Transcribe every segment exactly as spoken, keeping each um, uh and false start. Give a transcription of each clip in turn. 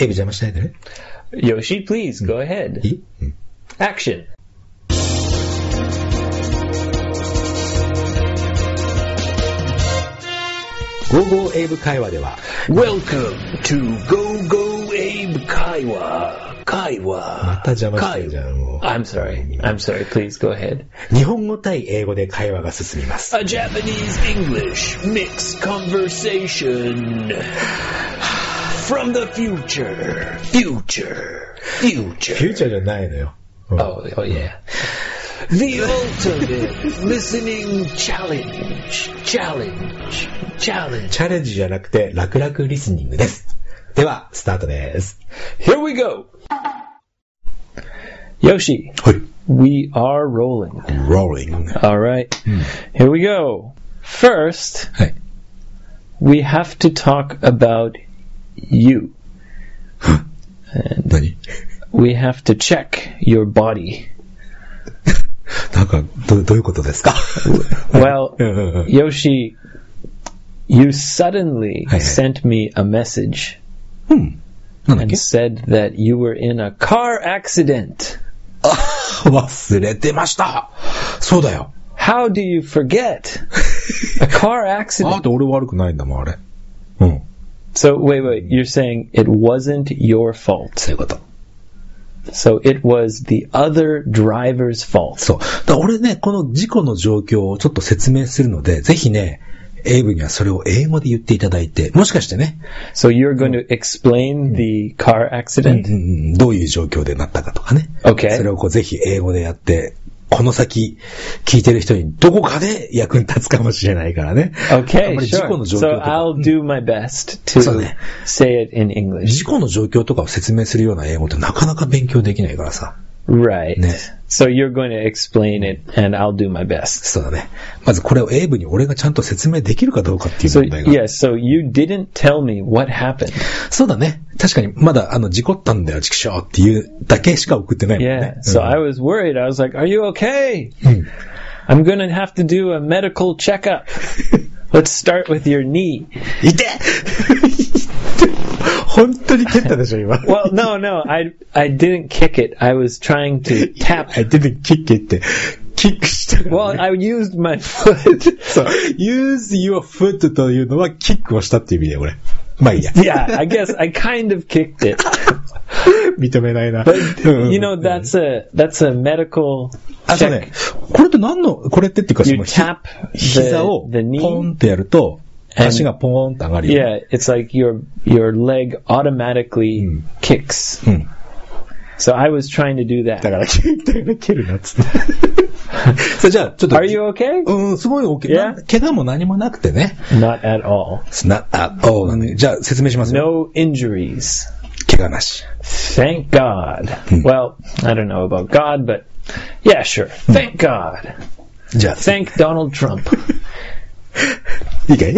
エビ邪魔しないでね。 Yoshi, please, go ahead. いい、うん、 Action. Go Go エイブ会話では Welcome to Go Go Abe 会話会話また邪魔してるじゃんもう I'm sorry. I'm sorry. Please go ahead. 日本語対英語で会話が進みます。 A Japanese English mixed conversation from the future. Future. Future. フューチャーじゃないのよ。 Oh, oh yeah. The ultimate listening challenge. Challenge. Challenge. チャレンジじゃなくて楽々リスニングです。ではスタートです。 Here we go. Yoshi. はい。 We are rolling. Rolling. All right. Here we go. First, はい。 we have to talk about you. And 何 we have to check your body. なんかど、どういうことですか Well, Yoshi, you suddenly はいはい sent me a message うん。なんだっ and け said that you were in a car accident. あ、忘れてました。そうだよ。 How do you forget? A car あ accident. って俺悪くないんだもん、あれ。うん。 So, wait, wait, you're saying it wasn't your fault. そういうこと。 So it was the other driver's fault. そう。だから俺ね、この事故の状況をちょっと説明するので、ぜひね、エイブにはそれを英語で言っていただいて、もしかしてね、 So you're going to explain the car うん accident? うん、どういう状況でなったかとかね。 Okay. それをこうぜひ英語でやって、この先聞いてる人にどこかで役に立つかもしれないからね。 Okay, あんまり事故の sure. 状況 So とか、 I'll do my best to そうね。 say it in English. 事故の状況とかを説明するような英語ってなかなか勉強できないからさ。 Right. ね。 So you're going to explain it and I'll do my best. そうだね。まずこれをエイブに俺がちゃんと説明できるかどうかっていう So 問題が。 yes, so you didn't tell me what happened. そうだね。確かにまだあの事故ったんだよ、畜生っていうだけしか送ってないもんね。 Yeah. So うん I was worried. I was like, "Are you okay?" うん I'm going to have to do a medical checkup. Let's start with your knee. いて本当に蹴ったでしょ、今。 Well, no, no, I I didn't kick it. I was trying to tap. I didn't kick it って、キックしたから、ね。 Well, I used my foot. そう。use your foot というのはキックをしたっていう意味で、俺。まあいいや。 Yeah, I guess I kind of kicked it. 認めないな。 But, you know, that's a, that's a medical あ、そうね check.。 これって何の、これってっていうか、そ You の、ひ tap 膝を the, the ポ knee. ンってやると、 And- 足がポーンって上がるよ。 Yeah, it's like your, your leg automatically kicks. うん。 So I was trying to do だ that. から、蹴るなっつって。それじゃあ、ちょっと。 Are you okay? うん、すごい OK。 Yeah? な怪我も何もなくてね。 Not at all. not at all なんで。じゃあ、説明しますよ。 No injuries. 怪我なし。 Thank God. Well, I don't know about God, but yeah, sure. Thank God. じゃあ、 Thank Donald Trump. いいかい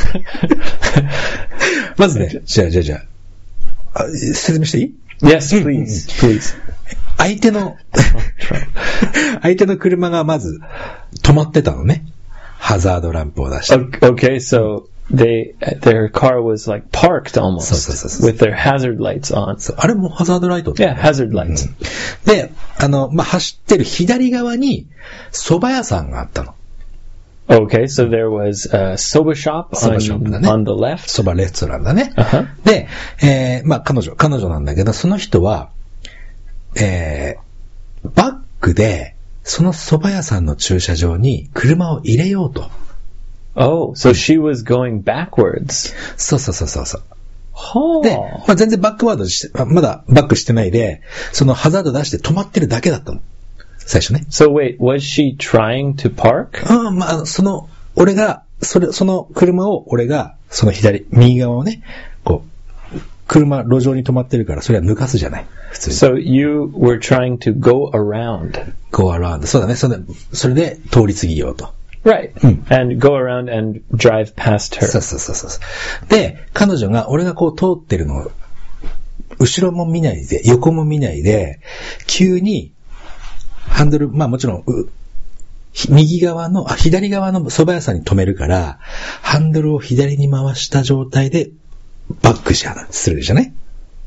まずね、じゃあ、じゃあ、じゃあ、あ説明していい Yes, please, please. 相手の、相手の車がまず止まってたのね。ハザードランプを出して。 Okay, so they their car was like parked almost そうそうそうそう。 with their hazard lights on. そうあれもハザードライトって、 Yeah, hazard lights. で、あの、まあ、走ってる左側に蕎麦屋さんがあったの。 Okay, so there was a soba shop 蕎 on, 麦ショップだね。 on the left. 蕎麦レストランだね。 Uh-huh. で、えー、まあ、彼女、彼女なんだけど、その人は、えー、バックで、その蕎麦屋さんの駐車場に車を入れようと。 Oh, so she was going backwards. そうそうそうそうそう。 Oh. で、まあ、全然バックワードして、まだバックしてないで、そのハザード出して止まってるだけだったの。最初ね。 So wait, was she trying to park? あまあ、その、俺が、それ、その車を、俺が、その左、右側をね、こう、車、路上に止まってるから、それは抜かすじゃない。普通に。 So you were trying to go around. go around. そうだね。それで、それで通り過ぎようと。 Right. And go around and drive past her. そうそうそうそう。で、彼女が、俺がこう通ってるのを、後ろも見ないで、横も見ないで、急に、ハンドル、まあもちろん、右側の、あ、左側の蕎麦屋さんに止めるから、ハンドルを左に回した状態で、バックしするじゃない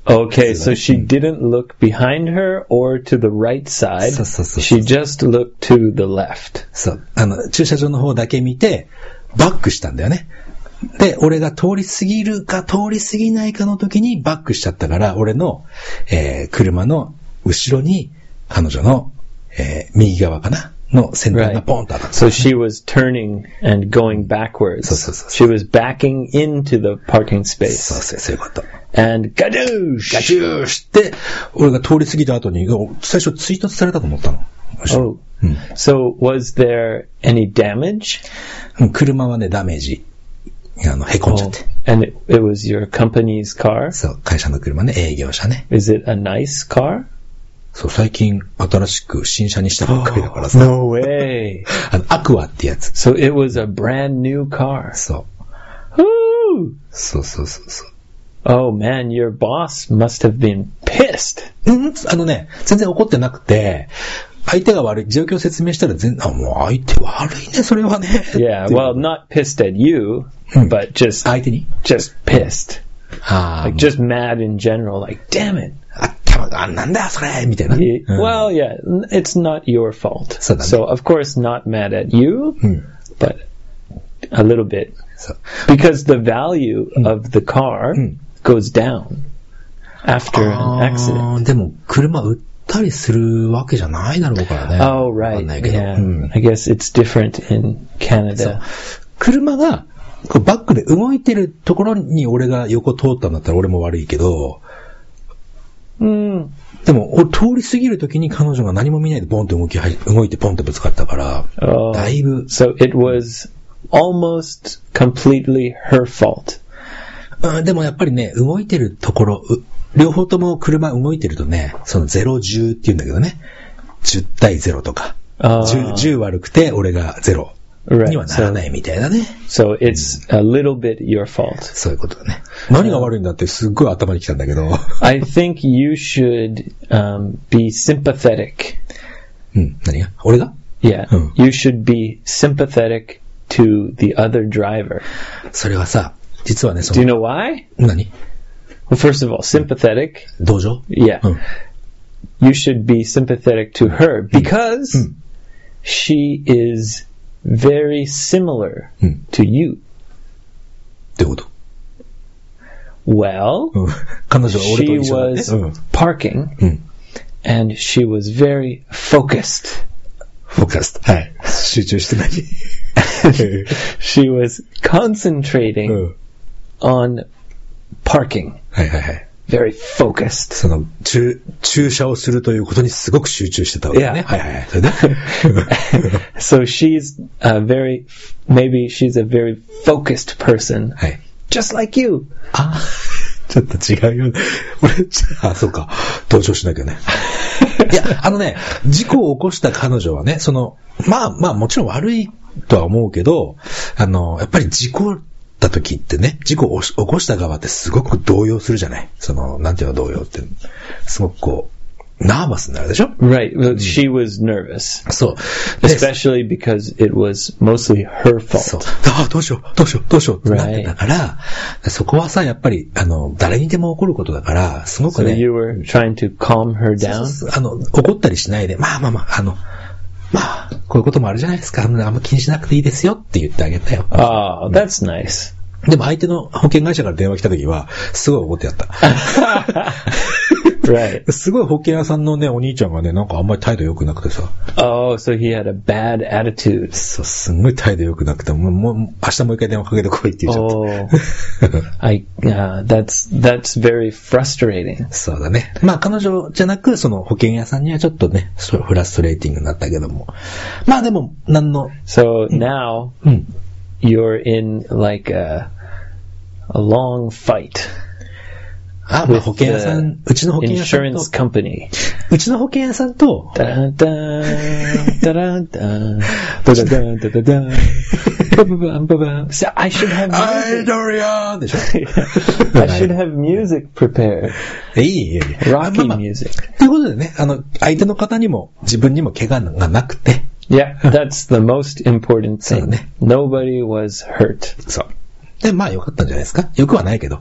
Okay, so she didn't look behind her or to the right side. そうそうそう。 She just looked to the left. そう。あの、駐車場の方だけ見て、バックしたんだよね。で、俺が通り過ぎるか通り過ぎないかの時にバックしちゃったから、俺の、えー、車の後ろに彼女の、えー、右側かなの先端がポンと当たった。 So she was turning and going backwards. そうそうそう。 She was backing into the parking space. そうそう、そういうこと。 And gadoosh! ガチューして、俺が通り過ぎた後に、最初追突されたと思ったの。 Oh. うん、 So was there any damage? 車はね、ダメージ。あの、へこんじゃって。 Oh. And it, it was your company's car? そう、会社の車ね、営業車ね。 Is it a nice car? そう、最近新しく新車にしたばっかりだからさ。 No way! あの、アクアってやつ。 So it was a brand new car. そう。 Woo! そうそうそうそう。 Oh man, your boss must have been pissed. うん、あのね、全然怒ってなくて、相手が悪い、状況を説明したら全然、あ、もう相手悪いね、それはね。 Yeah, well, not pissed at you, but just, 相手に just pissed. ああ、 Like just mad in general, like, damn it. あ、たま、あ、なんだよ、それみたいな。 It- well, yeah, n- it's not your fault. そうだね。 So, of course, not mad at you, うん。 but a little bit. そう。 Because the value of the car うん。 goes down after an accident. あーでも、車売ったりするわけじゃないだろうからね。 Oh, わか right. んないけど。 Yeah. うん。 I guess it's different in Canada. 車が、こうバックで動いてるところに俺が横通ったんだったら俺も悪いけど、 Mm. でも、俺通り過ぎるときに彼女が何も見ないでポンと動きはじ、動いてポンとぶつかったから、 Oh. だいぶ、 So it was almost completely her fault. うん、でもやっぱりね、動いてるところ、う両方とも車動いてるとね、そのゼロ、じゅうって言うんだけどね、じゅう対ゼロとか、 あーじゅう、じゅう悪くて俺がゼロ Right. にはならないみたいなね。 So it's a little bit your fault. そういうことだね。何が悪いんだってすっごい頭にきたんだけど。 I think you should um, be sympathetic. うん、何が俺が Yeah. Hmm. You should be sympathetic to the other driver. それはさ、実はね、そ Do you の、 know why? 何 Well, first of all, sympathetic. 同情 Yeah. うん。 You should be sympathetic to her because Hmm. she is very similar Hmm. to you. ってこと Well, うん。彼女は俺 she と一緒だね。 was うん。 parking うん。 and she was very focused. フォーカス。はい。集中して何 She was concentrating うん。 on parking. はいはいはい。 Very focused. その、駐、駐車をするということにすごく集中してたわけだね。 Yeah. はいはいはい。それで So she's a very, maybe she's a very focused person, はい。 just like you. あ、ちょっと違うよ。俺、あ、そうか。同情しなきゃね。いや、あのね、事故を起こした彼女はね、その、まあまあもちろん悪いとは思うけど、あの、やっぱり事故った時ってね、事故を起こした側ってすごく動揺するじゃない。その、なんていうの動揺って。すごくこう、ナーバスになるでしょ Right. Well, she was nervous, そう。で especially because it was mostly her そう fault. ああ、どうしよう、どうしよう、どうしようってなって Right. たから、そこはさ、やっぱり、あの、誰にでも起こることだから、すごく So ね、 you were trying to calm her そう down? そうそうあの、怒ったりしないで、まあまあまあ、あの、まあ、こういうこともあるじゃないですか。あのあんま気にしなくていいですよって言ってあげたよ。 Oh, that's nice. でも相手の保険会社から電話来た時は、すごい怒ってやった。 Right. すごい保険屋さんのね、お兄ちゃんがね、なんかあんまり態度良くなくてさ、 Oh, so he had a bad attitude. そう、すんごい態度良くなくて、もう、もう明日もう一回電話かけてこいって言っちゃった。 Oh, I, uh, that's, that's very frustrating. そうだね。まあ彼女じゃなく、その保険屋さんにはちょっとね、そうフラストレーティングになったけども。まあでも、なんの、 So now うん。 you're in like a, a long fight あ、まあ with 保険屋さん、うちの保険屋さん insurance と、 company. うちの保険屋さんと、 Da-da-da, da-da-da, da-da-da, da-da-da, ba-ba-bam, ba-bam. So I should have アイ music. ドリアンでしょ I should have music prepared. いい、いい、いい。 Rocky まあまあ music. ということでね、あの、相手の方にも自分にも怪我がなくて、 Yeah, that's the most important thing. So, ne. Nobody was hurt. そう。で、まあよかったんじゃないですか。よくはないけど。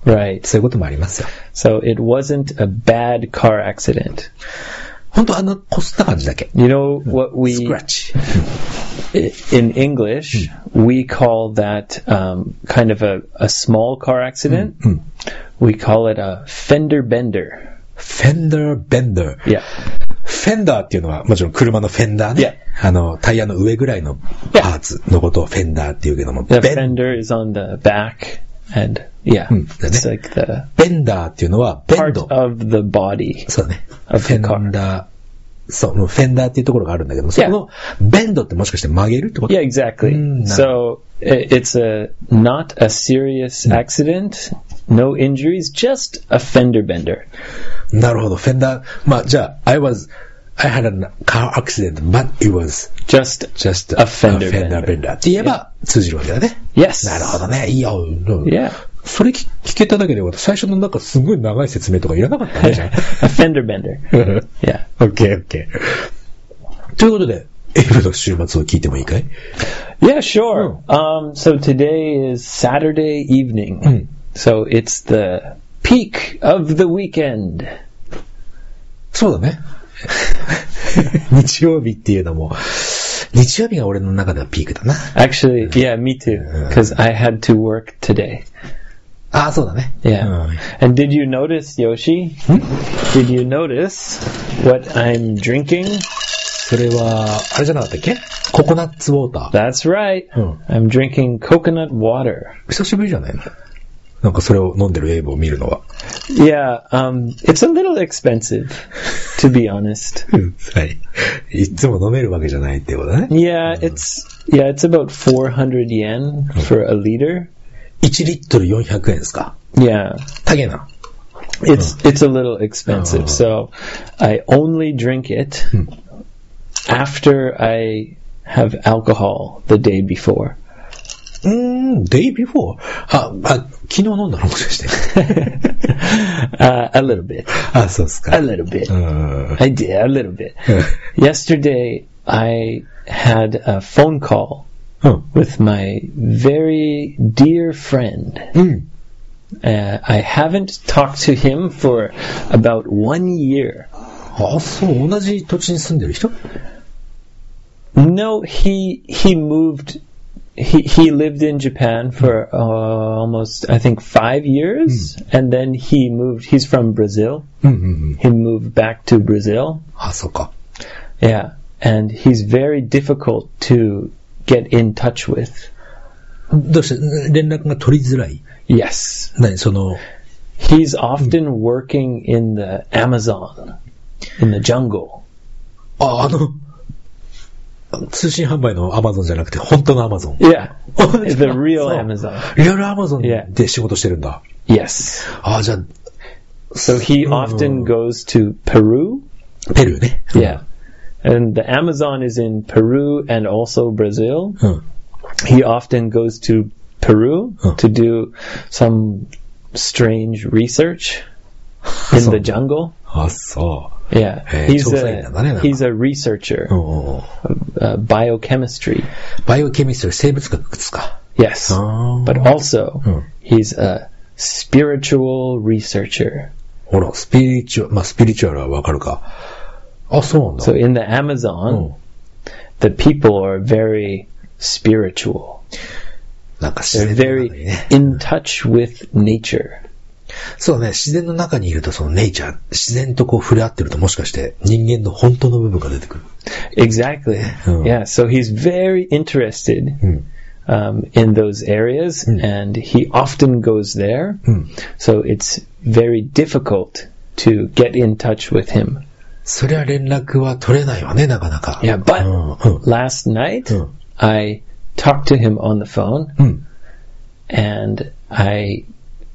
Right. そういうこともありますよ。 So it wasn't a bad car accident. 本当あの、こすった感じだけ。 You know what we, Scratch. in English, we call that um, kind of a, a small car accident. We call it a fender bender. Fender bender. Yeah. フェンダーっていうのはもちろん車のフェンダーね。あの、タイヤの上ぐらいのパーツのことをフェンダーっていうけども。 The ベン fender is on the back and yeah, it's like the ベンダーっていうのはベン part ド。 of the body. そうだね。 of フ the ェ car. ンダー。そう、フェンダーっていうところがあるんだけども、そこのベンドってもしかして曲げるってこと？ Yeah, exactly. Mm, So i- it's a not a serious accident, no injuries, just a fender bender. なるほど、フェンダー。まあ、じゃあ、I was, I had a car accident, but it was Just just a fender bender. bender. って言えば通じるわけだね。 yes. なるほどね。いいよ。 Yeah. それ聞聞けただけでよかった。最初のなんかすごい長い説明とかいらなかったね、じゃ A fender bender. あ。 Yeah. オッケーオッケー。ということで、エイブの週末を聞いてもいいかい？ Yeah, sure. Um, so today is Saturday evening. So it's the peak of the weekend. そうだね。日曜日っていうのも、日曜日が俺の中ではピークだな。 Actually, yeah, me too. Because I had to work today. ああ、そうだね。 Yeah. うん And did you notice, Yoshi? Did you notice what I'm drinking? それは、あれじゃなかったっけ？ココナッツウォーター。 That's right. I'm drinking coconut water. 久しぶりじゃないの？なんかそれを飲んでるエイブを見るのは。 Yeah, um, it's a little expensive, to be honest. はい。いつも飲めるわけじゃないってことだね。 Yeah, it's yeah, it's about four hundred yen for a liter. いちリットルよんひゃくえんですか？ Yeah, 高えな。 it's it's a little expensive. So I only drink it after I have alcohol the day before. うーん、day before? あ、あ、昨日飲んだのもしかして。 uh, a little bit. あ、そうですか。 A little bit. うん。 I did a little bit. Yesterday, I had a phone call うん。 with my very dear friend. うん。 Uh, I haven't talked to him for about one year. あ、そう、同じ土地に住んでる人？ No, he he moved. He he lived in Japan for uh, almost, I think, five years, and then he moved. He's from Brazil. うんうんうん。 He moved back to Brazil. あ、そうか。 Yeah, and he's very difficult to get in touch with. どうして連絡が取りづらい？ Yes, 何その、 he's often working in the Amazon, in the jungle. あ、あの、通信販売のアマゾンじゃなくて、本当のアマゾン。 Yeah, the real そう Amazon. リアルアマゾンで仕事してるんだ。 Yes. あ、じゃあ、 So he often goes to Peru. ペルーね。 Yeah. And the Amazon is in Peru and also Brazil. うん。 He often goes to Peru Huh. to do some strange research in So- the jungle. あ、そ Yeah. Hey, He's 調査員なんだね、なんか。 a, he's a researcher, う。うん。 uh, biochemistry. バイオケミストリー、生物学ですか。 Yes. あ But also, Hmm. he's a spiritual researcher. ほら、スピリチュアル、まあ、スピリチュアルはわかるか。あ、そうなんだ。 So in the Amazon, the people are very spiritual. なんか自 They're 然の中 very にね。 in touch with nature. そうね、自然の中にいるとそのネイチャー、自然とこう触れ合ってるともしかして人間の本当の部分が出てくる。 Exactly. Oh. Yeah. So he's very interested um, in those areas, and he often goes there. So it's very difficult to get in touch with him. そりゃ連絡は取れないわね、なかなか。 Yeah, but うんうん last night Hmm. I talked to him on the phone, うん。 and I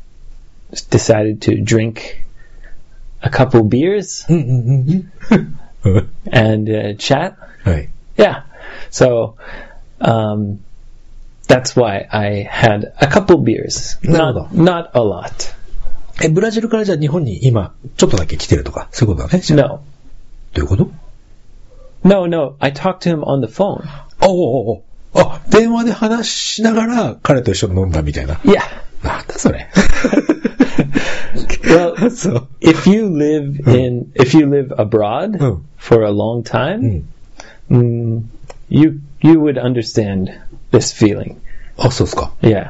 decided to drink a couple beers うんうんうんうん。 and uh, chat. はい。 Yeah. So um, that's why I had a couple beers. No, Not, not a lot. え、ブラジルからじゃあ日本に今、ちょっとだけ来てるとか、そういうことだね。じゃあ No. どういうこと？ No, no. I talked to him on the phone. あ、おおおあ、電話で話しながら彼と一緒に飲んだみたいな。 Yeah. なんだそれ。 Well, そう。 if you live in, if you live abroad うん。 for a long time, うん。 mm, you you would understand this feeling. あ、そうですか。 Yeah.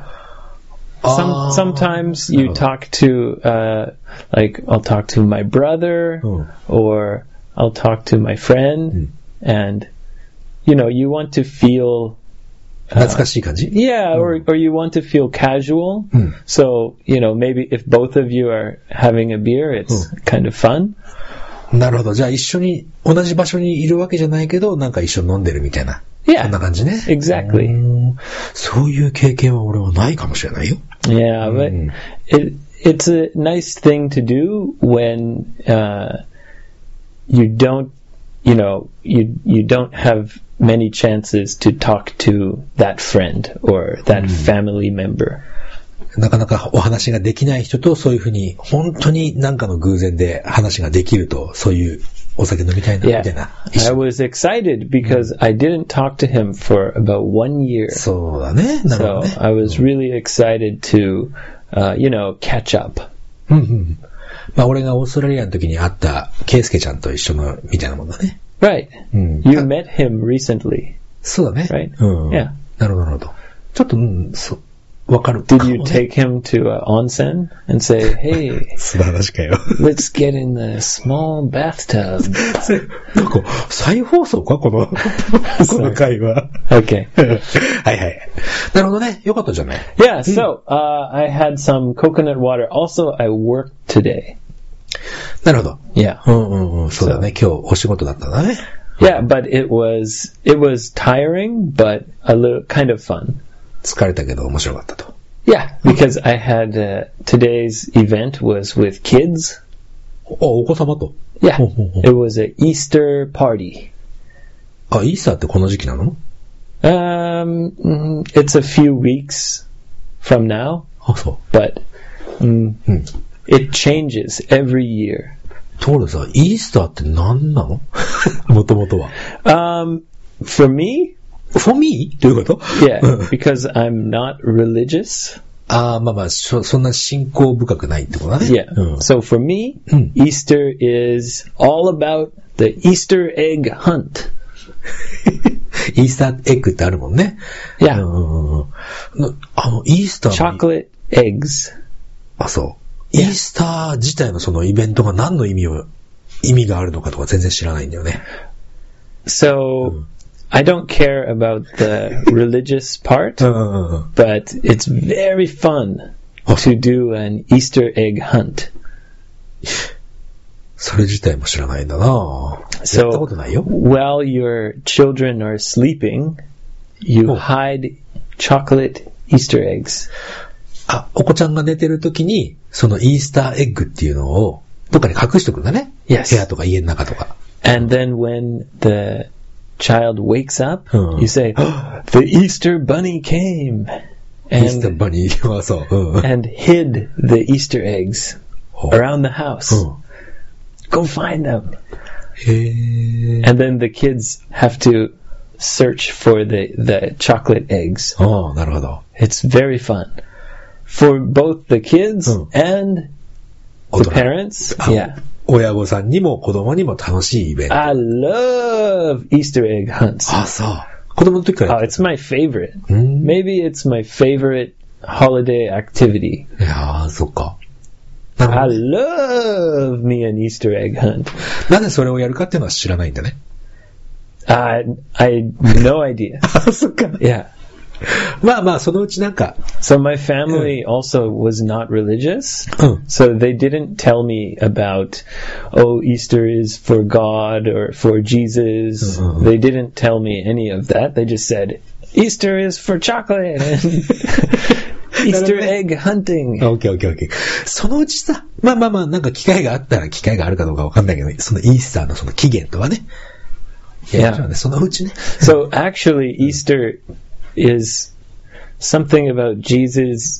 Some, あー sometimes な you るほど。 talk to, uh, like, I'll talk to my brother, うん。 or I'll talk to my friend, and, you know, you want to feel, 懐かしい感じ？ yeah, or, or you want to feel casual. うん。 So, you know, maybe if both of you are having a beer, it's kind of fun. なるほど。じゃあ一緒に、同じ場所にいるわけじゃないけど、なんか一緒に飲んでるみたいな。 Yeah. そんな感じね。 Exactly. うん。そういう経験は俺はないかもしれないよ。 Yeah, but Mm. it it's a nice thing to do when uh, you don't, you know, you you don't have many chances to talk to that friend or that family member. なかなかお話ができない人とそういうふうに、本当に何かの偶然で話ができると、そういうお酒飲みたいな、み Yeah, たいな。 I was excited because I didn't talk to him for about one year. そうだね。なるほど So ね。 I was really excited to, uh, you know, catch up. うんうん。まあ俺がオーストラリアの時に会ったケイスケちゃんと一緒のみたいなもんだね。 Right. うん。 You met him recently. そうだね。 Right. うん。 Yeah. なるほど、なるほど。ちょっと、うん、そう。わかる。 Did you take him to uh, onsen and say, "Hey, 素晴らしかよ。 let's get in the small bathtub"? なんか、再放送かこの、この回は。 Okay. はいはい。なるほどね。よかったじゃない。 Yeah. So uh, I had some coconut water. Also, I worked today. なるほど。 Yeah. うんうんうん。そうだね。今日お仕事だったんだね。 Yeah, but it was it was tiring, but a little kind of fun. 疲れたけど面白かったと。 Yeah, because I had uh, today's event was with kids. あ、お子様と。 Yeah, ほうほうほう it was an Easter party. あ、イースターってこの時期なの？ Um, mm, it's a few weeks from now, あ、そ but mm, う。うん。 it changes every year. ところでさ、イースターって何なの？もともとは。 Um, for me, for me? どういうこと？ yeah, because I'm not religious. ああ、まあまあ、そ、そんな信仰深くないってことだね。 Yeah. うん。 So for me, Mm. Easter is all about the Easter egg hunt. イースターエッグってあるもんね。 Yeah. うんうんうんなあの、イースターの Chocolate eggs. あ、そう。イースター自体のそのイベントが何の意味を、意味があるのかとか全然知らないんだよね。 So I don't care about the religious part, うんうんうん。 but it's very fun to do an Easter egg hunt. それ自体も知らないんだなぁ。やったことないよ。 While your children are sleeping, you Oh. hide chocolate Easter eggs. あ、お子ちゃんが寝てる時に、そのイースターエッグっていうのを、どっかに隠しとくんだね。 Yes. 部屋とか家の中とか。 And then when the child wakes up, Oh. you say, oh, the Easter bunny came イースター and, バニーはそう。うんうん。 and hid the Easter eggs ほう around the house. うん。 Go find them. へー。 And then the kids have to search for the, the chocolate eggs. ああ、なるほど。 It's very fun. For both the kids Oh. and 大 the 人 parents. あ Yeah. 親御さんにも子供にも楽しいイベント。 I love Easter egg hunts. あ、そう。子供の時から Oh, やっ it's my favorite. うん Maybe it's my favorite holiday activity. いやー、そっか。なるほ I どね love me an Easter egg hunt. なぜそれをやるかっていうのは知らないんだね。 I I no idea. あ、そっか。 Yeah. まあまあ、そのうちなんか、 So my family also was not religious. うん。 So they didn't tell me about, oh, Easter is for God or for Jesus. Uh-huh. They didn't tell me any of that. They just said, Easter is for chocolate and Easter egg hunting. オッケーオッケーオッケー。そのうちさ、まあまあまあ、なんか機会があったら機会があるかどうかわかんないけど、そのイースターのその起源とはね。いや、もちろんね、そのうちね。 So actually, Easter is something about Jesus.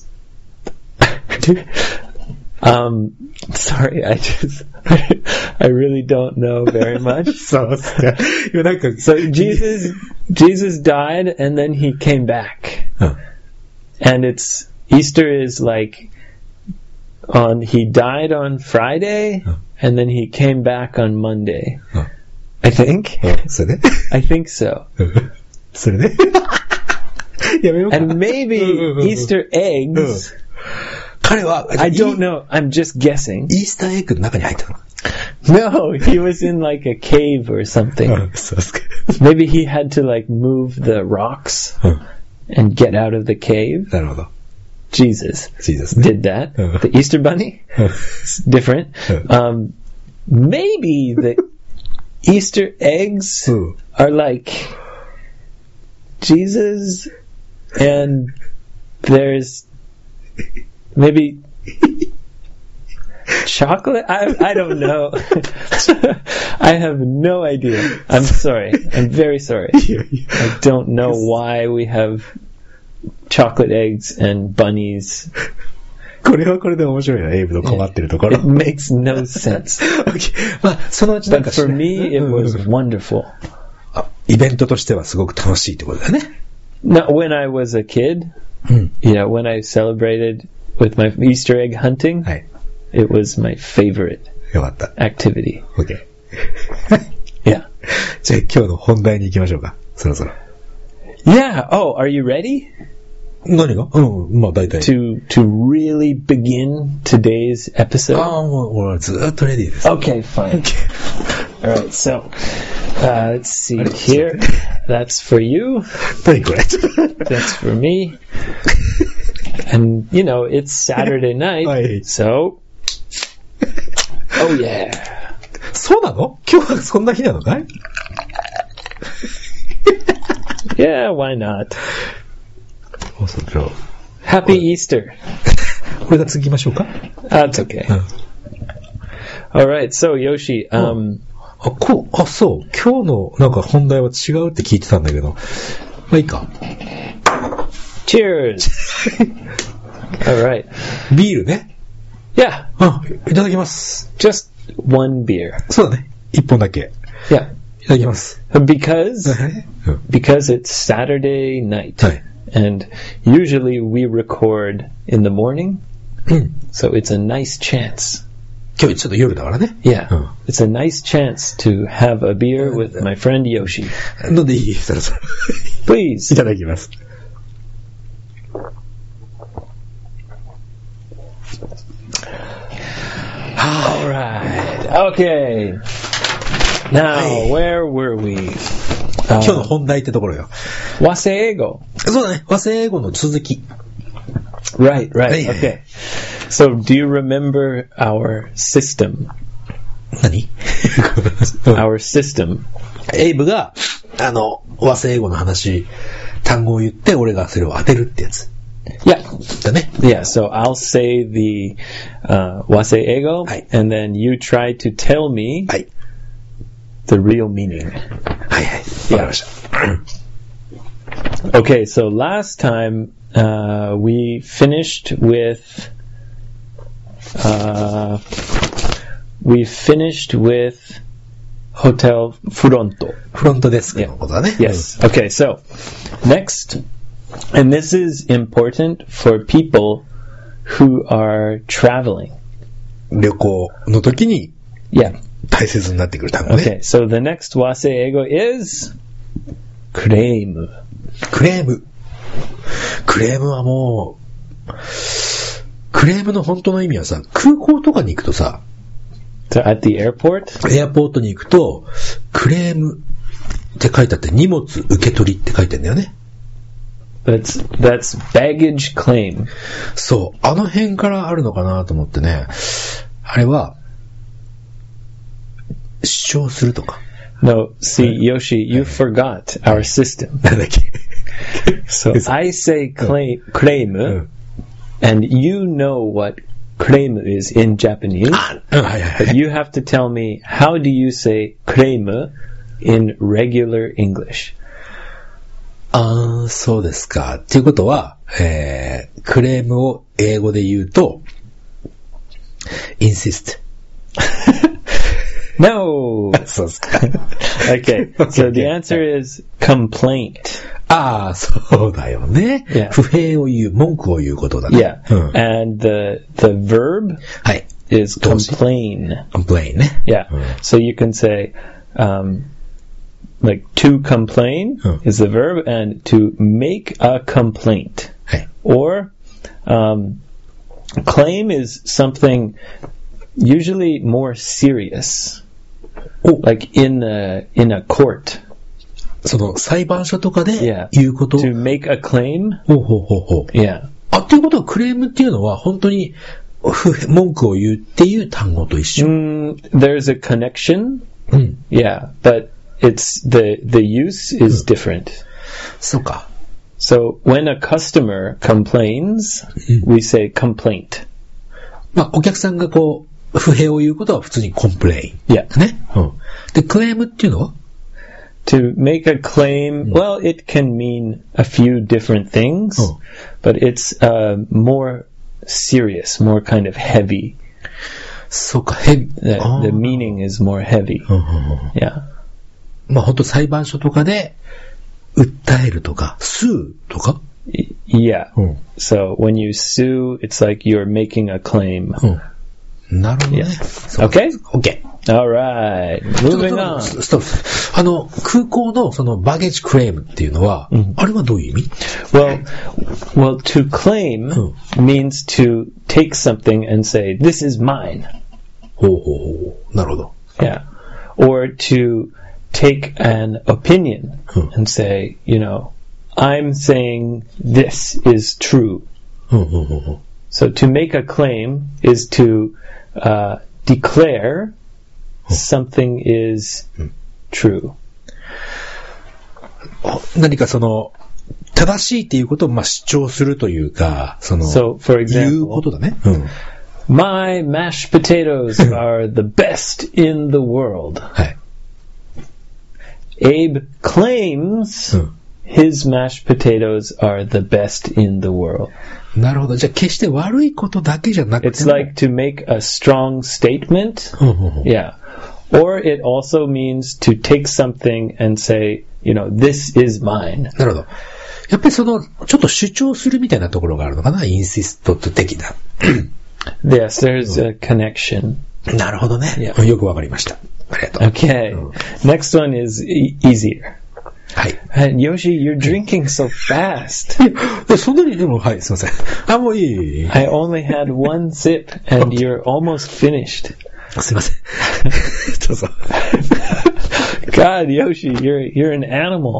um, sorry, I just, I really don't know very much. そうっすか。いや、なんか、 So Jesus, Jesus died and then he came back. うん。 And it's, Easter is like on he died on Friday, and then he came back on Monday. I think. それで I think so. それでやめようか。 And maybe Easter eggs. 彼は、 I don't know. I'm just guessing. イースターエッグの中に入ったの。 No, he was in like a cave or something. そうですか。 Maybe he had to like move the rocks and get out of the cave. なるほど。 Jesus Jesus did that. The Easter Bunny? It's different. Um, maybe the Easter eggs are like Jesus, and there's maybe chocolate? I, I don't know. I have no idea. I'm sorry. I'm very sorry. I don't know why we have chocolate eggs and bunnies. これはこれで面白いな、エイブの困ってるところ。 It makes no sense. Okay. まあ、そのうちなん But かし for me, it was wonderful. あ、イベントとしてはすごく楽しいってことだね。 Now, when I was a kid, you know, when I celebrated with my Easter egg hunting, はい。 it was my favorite よかった。 activity. OK。 Yeah. じゃあ今日の本題に行きましょうか。そろそろ。 Yeah. Oh, are you ready 何がうん、まあ大体。 to to really begin today's あ episode? あ、もう俺はずーっとレディーです。 Okay, fine. All right. So, uh, let's see here. That's for you. 何これ That's for me. And you know, it's Saturday night, Aye. so oh yeah. そうなの今日はそんな日なのかい Yeah, why not? そうそう、じゃあ Happy Easter. これが次行きましょうか That's okay. All right. So Yoshi, um, あ、こう、あ、そう。今日のなんか本題は違うって聞いてたんだけど。まあいいか。 cheers. All right. ビールね。 Yeah, あ、いただきます。 just one beer. そうだね。一本だけ。 Yeah, いただきます。 because うん because it's Saturday night, はい。 and usually we record in the morning, うん。 so it's a nice chance. 今日ちょっと夜だからね。 Yeah, Oh. it's a nice chance to have a beer with my friend Yoshi. 飲んでいいそろそろ。 Please. いただきます。 All right. Okay. Now, Hey. where were we? 今日の本題ってところよ。 Waseigo. そうだね。和製英語の続き。 Right, right. Hey. Okay. So, do you remember our system? 何 Our system. エイブが、あの、和製英語の話、単語を言って、俺がそれを当てるってやつ。 Yeah. だね。 Yeah, so I'll say the uh, waseigo, Aye. and then you try to tell me はい。 the real meaning. はいはい。わかりました。 Okay, so last time uh, we finished with uh, we finished with Hotel Furonto. フロントデスクのことだね。 Yes. Okay, so next, and this is important for people who are traveling. うん。旅行の時に Yeah. 大切になってくる単語ね。 Okay, so the next waseigo is claim. クレーム。クレームはもう、クレームの本当の意味はさ、空港とかに行くとさ、 So at the airport? エアポートに行くと、クレームって書いてあって、荷物受け取りって書いてあるんだよね。 That's that's baggage claim. そう。あの辺からあるのかなと思ってね。あれは、主張するとか。 No, see, Yoshi, you forgot our system. なんだっけ So I say claim, claim, うん。 and you know what claim is in Japanese. あ、うん、はいはいは But い。 you have to tell me, how do you say claim in regular English? あー、そうですか。っていうことは、えー、クレームを英語で言うと、insist。 No! そうですか。 Okay, so the answer is complaint. ああ、そうだよね。 Yeah. 不平を言う、文句を言うことだ Yeah. ね。うん、 And the, the verb はい。 is complain. complain ね。 Yeah. うん、 So you can say, um, like to complain うん、 is the verb and to make a complaint. はい。 Or, um, claim is something usually more serious. Like in a, in a court. その裁判所とかで Yeah. 言うこと。 To make a claim. ほうほうほうほう。 Yeah. あ、っていうことはクレームっていうのは本当に文句を言うっていう単語と一緒。 Mm, there's a connection. うん。 Yeah, but it's the the use is different. そうか。 So when a customer complains, we say complaint. まあお客さんがこう不平を言うことは普通にコンプレイン。 Yeah. ね。うん。でクレームっていうのは To make a claim, well, it can mean a few different things, Oh. but it's uh, more serious, more kind of heavy. そうか、ヘビ。 The, the meaning is more heavy. うんうんうん、 Yeah. まあ本当裁判所とかで訴えるとか、スーとか。 Yeah. うん、 So when you sue, it's like you're making a claim. うん、なるほどね。 Yeah. Okay? OK。 All right. Moving on. ストップ。あの、空港のそのバゲージクレームっていうのは、うん、あれはどういう意味？ Well, well, to claim means to take something and say, this is mine. ほうほうほう。なるほど。 Yeah. Or to take an opinion and say, you know, I'm saying this is true. So to make a claim is to uh, declare something is true. 何かその正しいっていうことをまあ主張するというか、その So, for example, 言うことだね。うん、 My mashed potatoes are the best in the world. はい。 Abe claims、うん、his mashed potatoes are the best in the world. なるほど。じゃあ決して悪いことだけじゃなくて。 It's like to make a strong statement. Yeah. Or it also means to take something and say, you know, this is mine. なるほど。やっぱりその、ちょっと主張するみたいなところがあるのかな？インシスト的な。 Yes, there's a connection. なるほどね。 Yeah. よくわかりました。ありがとう。 Okay. Next one is e- easier. はい。 And Yoshi, you're drinking so fast. そんなにでも、はい、すいません。あ、もういい。 I only had one sip and you're almost finished. すいません。どうぞ。 God, Yoshi, you're, you're an animal.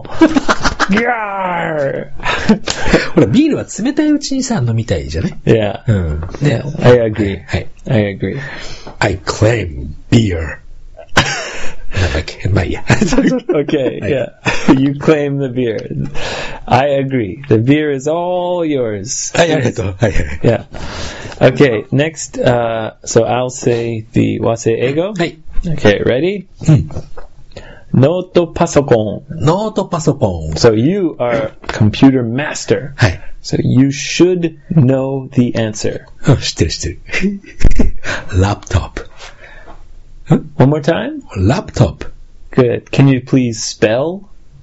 Yarr! ほら、ビールは冷たいうちにさ、飲みたいじゃね？ Yeah. うん。 ね、yeah, I agree. はい。 I agree. I claim beer. なんだっけ？まあいいや。 Okay, yeah. You claim the beer. I agree. The beer is all yours. はい、ありがとう。はいはい。 Yeah. Okay, next, uh, so I'll say the wasei-eigo. はい。 Okay, ready? うん。 ノートパソコン。 ノートパソコン。 So you are computer master. はい。 So you should know the answer. うん、知ってる知ってる。Laptop. One more time? Laptop. Good. Can you please spell?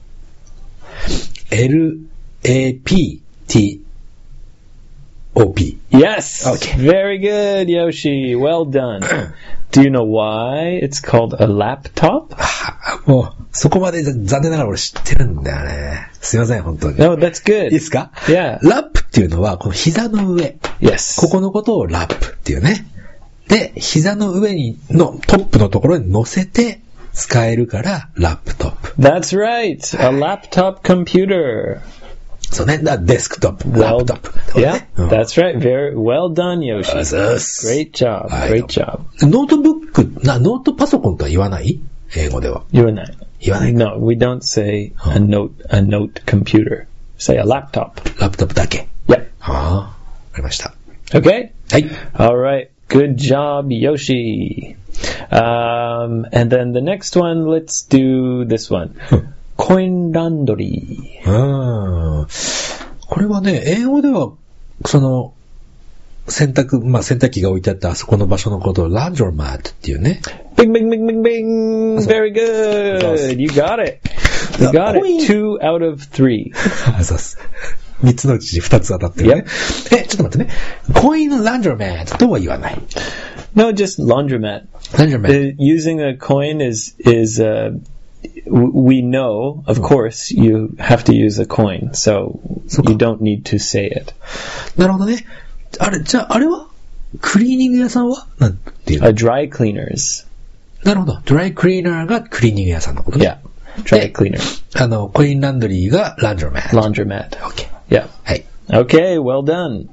L A P T O P. Yes. Okay. Very good, Yoshi. Well done. Do you know why it's called a laptop? もう、そこまで残念ながら俺知ってるんだよね。すいません、本当に。 No, that's good. いいですか？ Yeah. ラップっていうのは、この膝の上。 Yes. ここのことをラップっていうね。で、膝の上にのトップのところに乗せて使えるから、ラップトップ。 That's right. A laptop computer. そうね。デスクトップ。 Well, ラップトップ。 Yeah, that's right. Very well done, Yoshi. Great job. Great job. ノートブック、な、ノートパソコンとは言わない？英語では。 言わない。 言わない。 No, we don't say a note, a note computer. Say a laptop. ラップトップだけ。 Yep. はあ、わかりました。 Okay? はい。 All right. Good job, Yoshi. Um, and then the next one, let's do this one. Coin laundry. うん。これはね、英語では、その、洗濯、まあ、洗濯機が置いてあったあそこの場所のことをランドロマットっていうね。 Bing, bing, bing, bing, bing. Very good. You got it. You got it. Two out of three. そうです。三つのうち二つ当たってるね。Yep. え、ちょっと待ってね。コインランドロマットとは言わない。 No, just laundromat. Laundromat. The, using a coin is, is, uh, we know, of course, you have to use a coin, so you don't need to say it. なるほどね。あれ、じゃあ、あれはクリーニング屋さんはなんていうの？ A dry cleaners. なるほど。ドライクリーナーがクリーニング屋さんのことね。 Yeah. Dry cleaner. あの、コインランドリーがランドロマット。 Laundromat. Okay. Yeah. はい。 Okay, well done.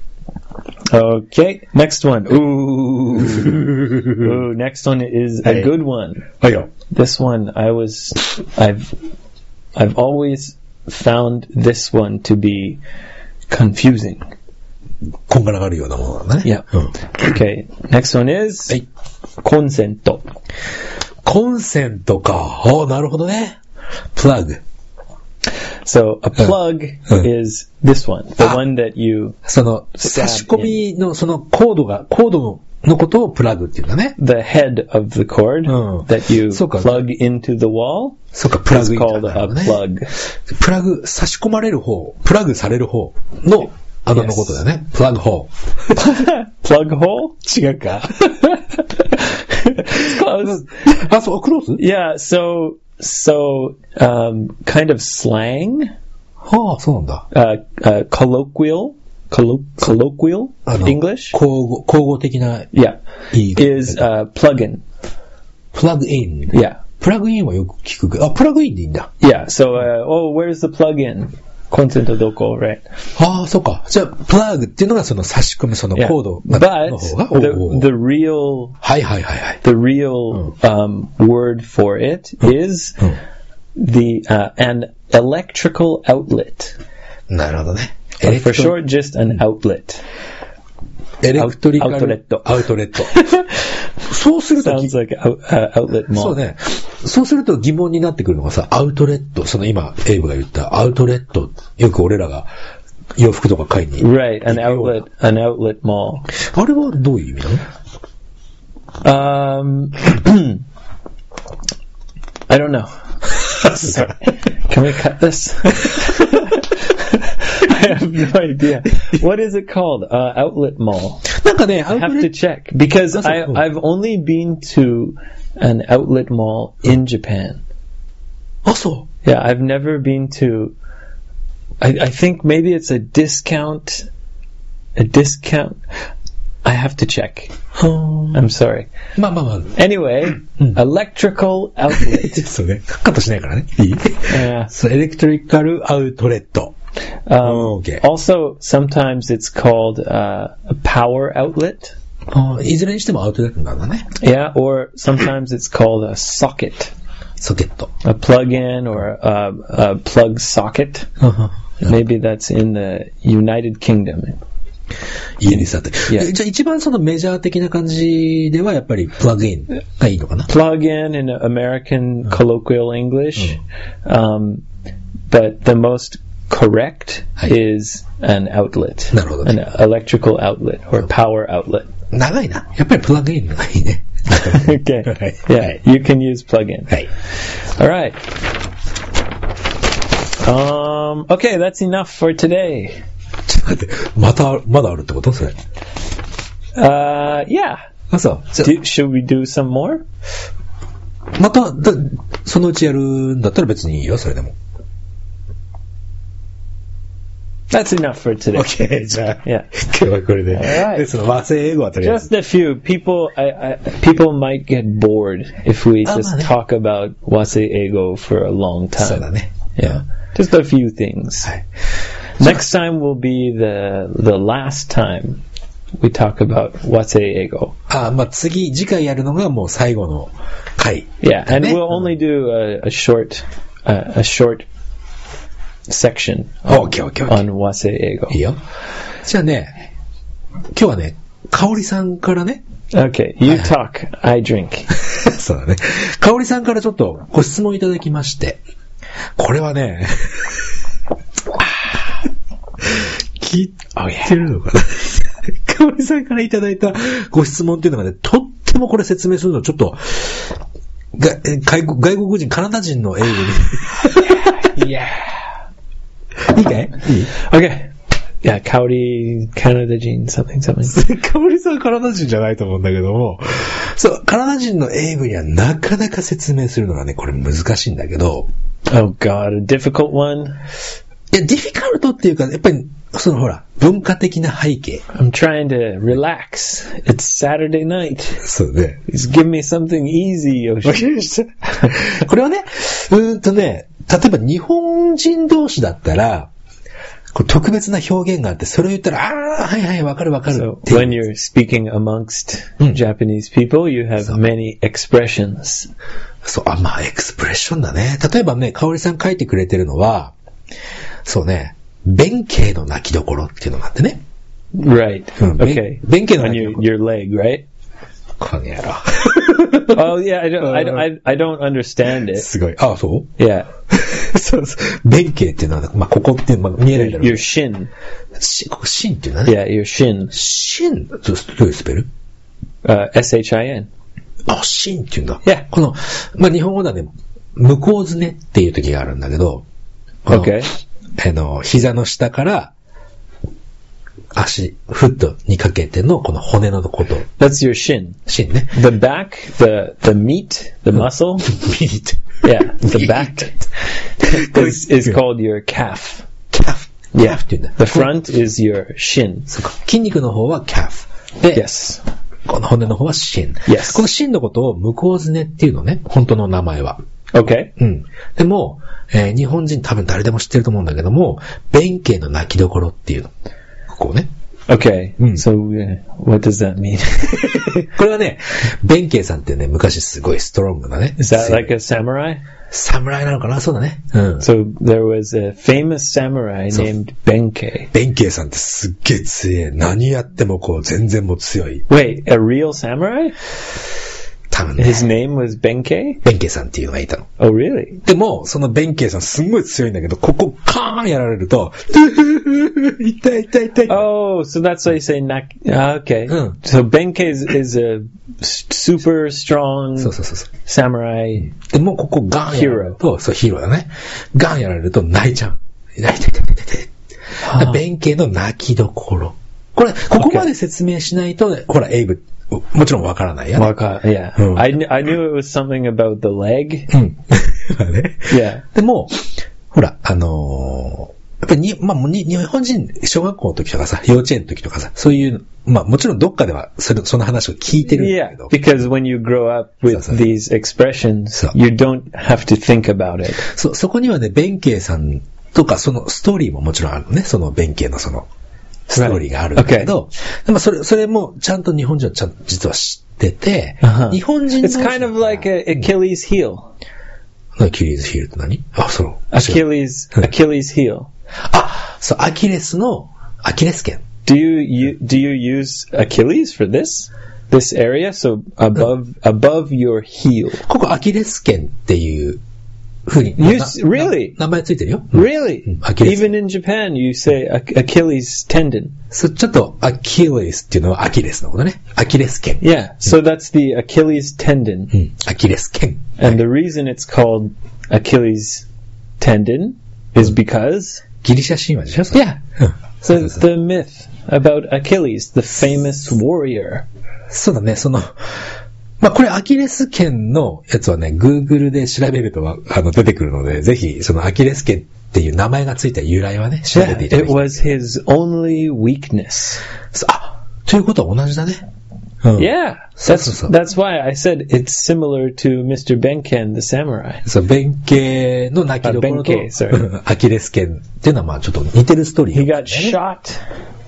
Okay, next one. Ooh. Ooh, next one is a good one. This one, I was, I've, I've always found this one to be confusing. こんがらがるようなものなんだね。 Yeah. Okay, next one is, はい。 コンセント。 コンセントか。おー、なるほどね。plug. So a plug uh, is this one, the one that you その差し込みのそのコードがコードのことをプラグっていうんだね。 The head of the cord、うん、that you plug into the wall そうか、プラグ is called a plug. プラグ、差し込まれる方、プラグされる方の穴のことだよね。プラグホール。 plug hole? 違うか。 Close. あ、そう、クロース? Yeah, so So, um, kind of slang. はあ、そうなんだ。 Uh, uh, colloquial, collo- colloquial English. 口語、口語的な。 Yeah. Is, uh, plug-in. plug-in. Yeah. プラグインはよく聞くけど、あ、プラグインでいいんだ。 Yeah, so, uh, oh, where's the plug-in? コンセントどこ right? ああ、そうか。じゃあ、プラグっていうのがその差し込むそのコードの方が。 But, the, the real, はいはいはいはい。 The real, um, word for it is the, uh, an electrical outlet. なるほどね。 For short, just an outlet. エレクトリカルアウトレット。 アウトレット。そうすると、 Sounds like out, uh, outlet mall. そうね。そうすると疑問になってくるのがさ、アウトレット、その今、エイブが言ったアウトレット、よく俺らが洋服とか買いに。 Right, an outlet, an outlet mall. あれはどういう意味なの？ Um, I don't know. Sorry. Can we cut this? I have no idea. What is it called? Uh, outlet mall. なんかね、 I have to check because I, I've only been to an outlet mall in Japan. あ、そう。 Yeah, I've never been to. I, I think maybe it's a discount. A discount. I have to check. I'm sorry. まあまあまあ。 Anyway, electrical outlet. そうね。カットしないからね。いい？ Yeah. そう、エレクトリカルアウトレット。 Um, okay. Also, sometimes it's called uh, a power outlet. あ、いずれにしてもアウトレットなんだね。 Yeah, or sometimes it's called a socket. ソケット。 A plug-in or a, a plug socket. Uh-huh. Maybe that's in the United Kingdom. 家にさて。Yeah. じゃあ一番そのメジャー的な感じではやっぱりプラグインがいいのかな？ Plug-in in American colloquial English. Um, but the most correct is an outlet. なるほどね。 An electrical outlet or power outlet. 長いな。やっぱりプラグインがいいね。 Okay. Yeah, you can use plug-in. はい。 All right. Um, okay, that's enough for today. ちょっと待って、また、まだあるってことそれ。 Uh, yeah. あ、そう。 Do, should we do some more? また、だ、そのうちやるんだったら別にいいよ、それでも。 That's enough for today. Okay, じゃあ、 yeah. 今日はこれで。 Alright. で、その和製英語はとりあえず。 Just a few. People, I, I, people might get bored if we just talk about wasei-eigo for a long time. そうだね。 Yeah. Just a few things. はい。 Next time will be the, the last time we talk about wasei-eigo. あ、まあ、次、次回やるのがもう最後の回。 Yeah, and we'll only do a, a short, uh, a short section on, okay, okay, okay. on wasei-eigo. いいよ。じゃあね、今日はね、かおりさんからね。 Okay, you talk, I drink. そうだね。かおりさんからちょっとご質問いただきまして、これはね、聞いてるのかな、かおりさんからいただいたご質問っていうのがね、とってもこれ説明するのちょっとが外国、外国人、カナダ人の英語に。 いや。 いいかい？いい？ Okay. Yeah, カオリ、カナダ人、something, something. カオリさんはカナダ人じゃないと思うんだけども、そう、カナダ人の英語にはなかなか説明するのがね、これ難しいんだけど。 Oh God, a difficult one? いや、ディフィカルトっていうか、やっぱり、そのほら、文化的な背景。 I'm trying to relax. It's Saturday night. そうね。 Just give me something easy. これはね、うーんとね、例えば日本人同士だったら、こう特別な表現があって、それを言ったら、ああ、はいはい、わかるわかる。 So, when you're speaking amongst、うん、Japanese people, you have many expressions. そう、あ、まあ、エクスプレッションだね。例えばね、かおりさん書いてくれてるのは、そうね、弁慶の泣きどころっていうのがあってね。 Right. うん、 okay. 弁慶の泣きどころ。 On your, your leg, right? この野郎。 Oh, yeah, I don't, I don't, I, I don't understand it. すごい。あ、そう Yeah. そうそう。弁慶っていうのは、まあ、ここって、まあ、見えないだろう。 Your shin. し、ここ、シンっていうのはね。 Yeah, your shin. シンどういうスペル？ Uh,エスエイチアイエヌ. あ、シンっていうんだ。 Yeah. この、まあ、日本語ではね、向こうずねっていう時があるんだけど、 Okay. あの、膝の下から、足、フットにかけてのこの骨のこと。 That's your shin. シンね。 The back, the, the meat, the muscle. meat. Yeah, the back is, is called your calf. calf. Yeah. calf っていうんだ。 The front is your shin. 筋肉の方は calf。で、 yes. この骨の方は shin。 Yes. この shin のことを向こうずねっていうのね。本当の名前は。 Okay. うん。でも、えー、日本人多分誰でも知ってると思うんだけども、弁慶の泣きどころっていうの。こうね。 Okay. Mm. So, uh, what does that mean? これはね、弁慶さんってね、昔すごいストロングなね。 Is that like a samurai? 侍なのかな？そうだね。うん。 So, there was a famous samurai named Benkei. 弁慶さんってすっげえ強い。何やってもこう、全然も強い。 Wait, a real samurai? 多分ね。 His name was Benkei? 弁慶さんっていうのがいたの。 Oh, really? でも、その弁慶さんすんごい強いんだけど、ここカーンやられると、痛い痛い痛い。 Oh, so that's why you say nak. Ah, okay. Mm. So Benkei is, is a super strong そうそうそうそう。 samurai. でも、ここガンやられると、そう、ヒーローだね。ガンやられると泣いちゃう。泣いて痛い痛い痛い痛い。弁慶の泣きどころ。これ、ここまで説明しないと、ほら、エイブ、もちろんわからないよね。 わか、yeah. Mm. I, I knew it was something about the leg. うん。まあね。 Yeah. でも、ほら、あのー、やっぱりに、まあ、に、日本人、小学校の時とかさ、幼稚園の時とかさ、そういう、まあ、もちろんどっかでは、それ、その話を聞いてるんだけど。 Yeah, because when you grow up with そうそう these expressions, you don't have to think about it. そう、そこにはね、弁慶さんとか、そのストーリーももちろんあるのね、その弁慶のその、ストーリーがあるんだけど、right. okay. でもそれ、それもちゃんと日本人はちゃんと実は知ってて、uh-huh. 日本人の It's kind of like a Achilles heel. アキレスヒールって何？あ、そう。 Achilles, Achilles heel. あ、そう、アキレスの、アキレス腱。 Do you, you, do you use Achilles for this? This area? So above, above your heel. ここアキレス腱っていう風に。 You, really? 名前ついてるよ。 Really? Even in Japan, you say Achilles tendon. そう、ちょっとアキレスっていうのはアキレスのことね。アキレス腱。 Yeah, so that's the Achilles tendon. うん、アキレス腱。 And the reason it's called Achilles tendon is because ギリシャ神話でしょ？ Yeah. So the myth about Achilles, the famous warrior. そうだね、その、まあ、これアキレス腱のやつはね、Google で調べるとあの出てくるので、ぜひそのアキレス腱っていう名前がついた由来はね、調べていただきたい。 Yeah, it was his only weakness. あ、ということは同じだね。 うん、yeah, that's, that's why I said it's similar to Mister Benken, the samurai. そう、弁慶の泣きどころと、アキレス腱っていうのはまあちょっと似てるストーリー、 ね。He got shot.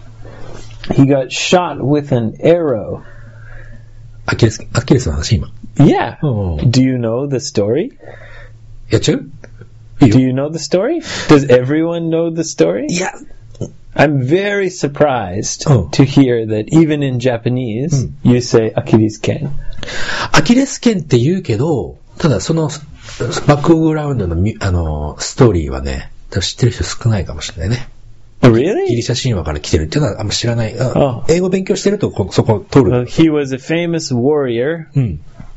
He got shot with an arrow. アキレス、アキレスの話今。 Yeah. Do you know the story? やっちゃう？ Do you know the story? Does everyone know the story? いや。 I'm very surprised oh. to hear that even in Japanese, mm. you say Achilles ken. アキレス腱って言うけど、ただそのバックグラウンドのあのストーリーはね、知ってる人少ないかもしれないね。 Really? ギリシャ神話から来てるっていうのはあんま知らない。 Oh. 英語勉強してるとそこ通る。 Well, he was a famous warrior. Mm.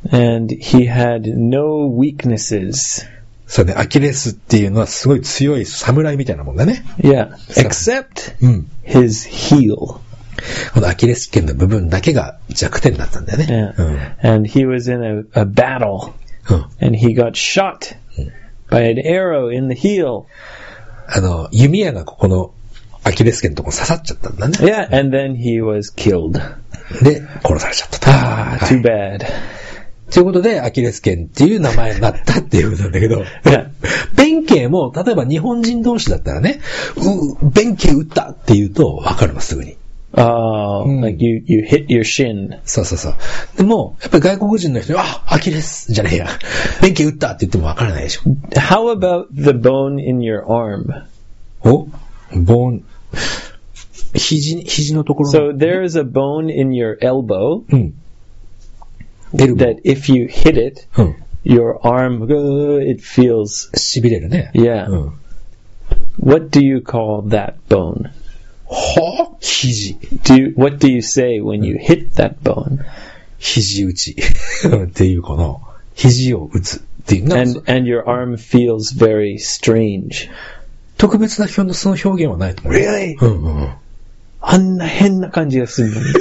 And he had no weaknesses. そうね、アキレスっていうのはすごい強い侍みたいなもんだね。 Yeah, except うん。 his heel. このアキレス腱の部分だけが弱点だったんだよね。 Yeah. うん。 And he was in a, a battle. うん。 And he got shot by an arrow in the heel. あの、弓矢がここのアキレス腱のとこ刺さっちゃったんだね。 Yeah, and then he was killed. で、殺されちゃったと。 Ah, は too い bad. ということで、アキレス腱っていう名前になったっていうことなんだけど、 Yeah. 弁慶も、例えば日本人同士だったらね、う、弁慶撃ったって言うと分かるの、すぐに。 Oh, Mm. like you, you hit your shin. そうそうそう。でも、やっぱり外国人の人に、あ、アキレスじゃねえや。弁慶撃ったって言っても分からないでしょ。 How about the bone in your arm? おボーン、肘、肘のところの。 So there is a bone in your elbow うん。エルボー that if you hit it, うん。 your arm, uh, it feels, 痺れるね。 yeah. うん。 What do you call that bone? はぁ肘。 Do you, what do you say when you hit that bone? 肘打ち。っていうかな。肘を打つっていう。なんか And, and your arm feels very strange. 特別な表のその表現はないと思う。 Really? うんうんうん。 あんな変な感じがするのに。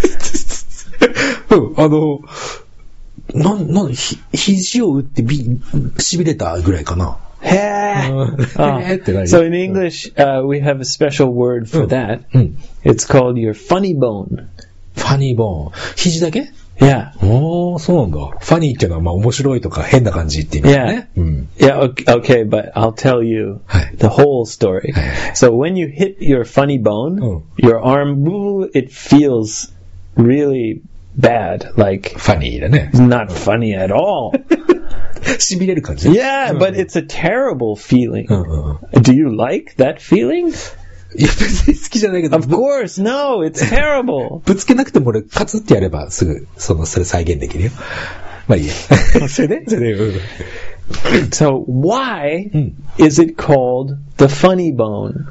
うん、あの、なん、なん、ひ、肘を打ってび、痺れたぐらいかな。 へうんー。 へーって何？ So in English, uh, we have a special word for that. うん。 It's called your funny bone. ファニーボーン。肘だけ？ Yeah. おー、そうなんだ。ファニーっていうのはまあ面白いとか変な感じって意味だね。うん。 Yeah, okay, okay, but I'll tell you はい。 the whole story. はい。 So when you hit your funny bone, Oh. your arm, woo, it feels really bad. Like, ファニーだね。 not funny at all. 痺れる感じ。 Yeah, but it's a terrible feeling. うんうんうん。 Do you like that feeling? いや、別に好きじゃないけど、 Of course, no, it's terrible. ぶつけなくても俺、カツってやればすぐ、その、それ再現できるよ。まあいいや。それでそれで、うん。 So why Mm. is it called the funny bone?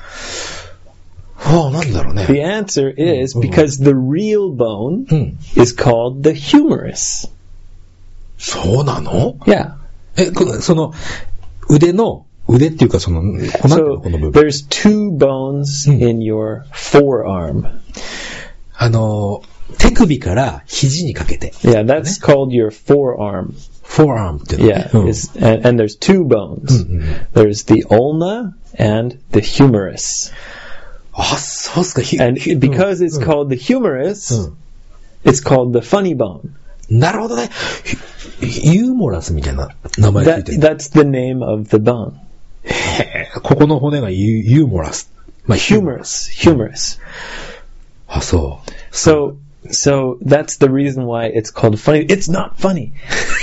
はあ、なんだろうね。 The answer is because the real bone うん。 is called the humerus. そうなの？ Yeah. え、このその、腕の、腕っていうかその、この、 So この部分。 there's two bones Mm. in your forearm. あの、手首から肘にかけて。 Yeah, that's called your forearm. forearm っていうのね。 Yeah, うん it's, and, and there's two bones. Mm-hmm. There's the ulna and the humerus. あ、そうっすか。ひ And ひ because うん it's called the humerus, うん it's called the funny bone. なるほどね。ひユーモラスみたいな名前つい That, てる。 that's the name of the bone. へーここの骨がユユーモラス。まあ、ヒューモラス。 Humerus, humerus. あ、そう So, so that's the reason why it's called funny. It's not funny.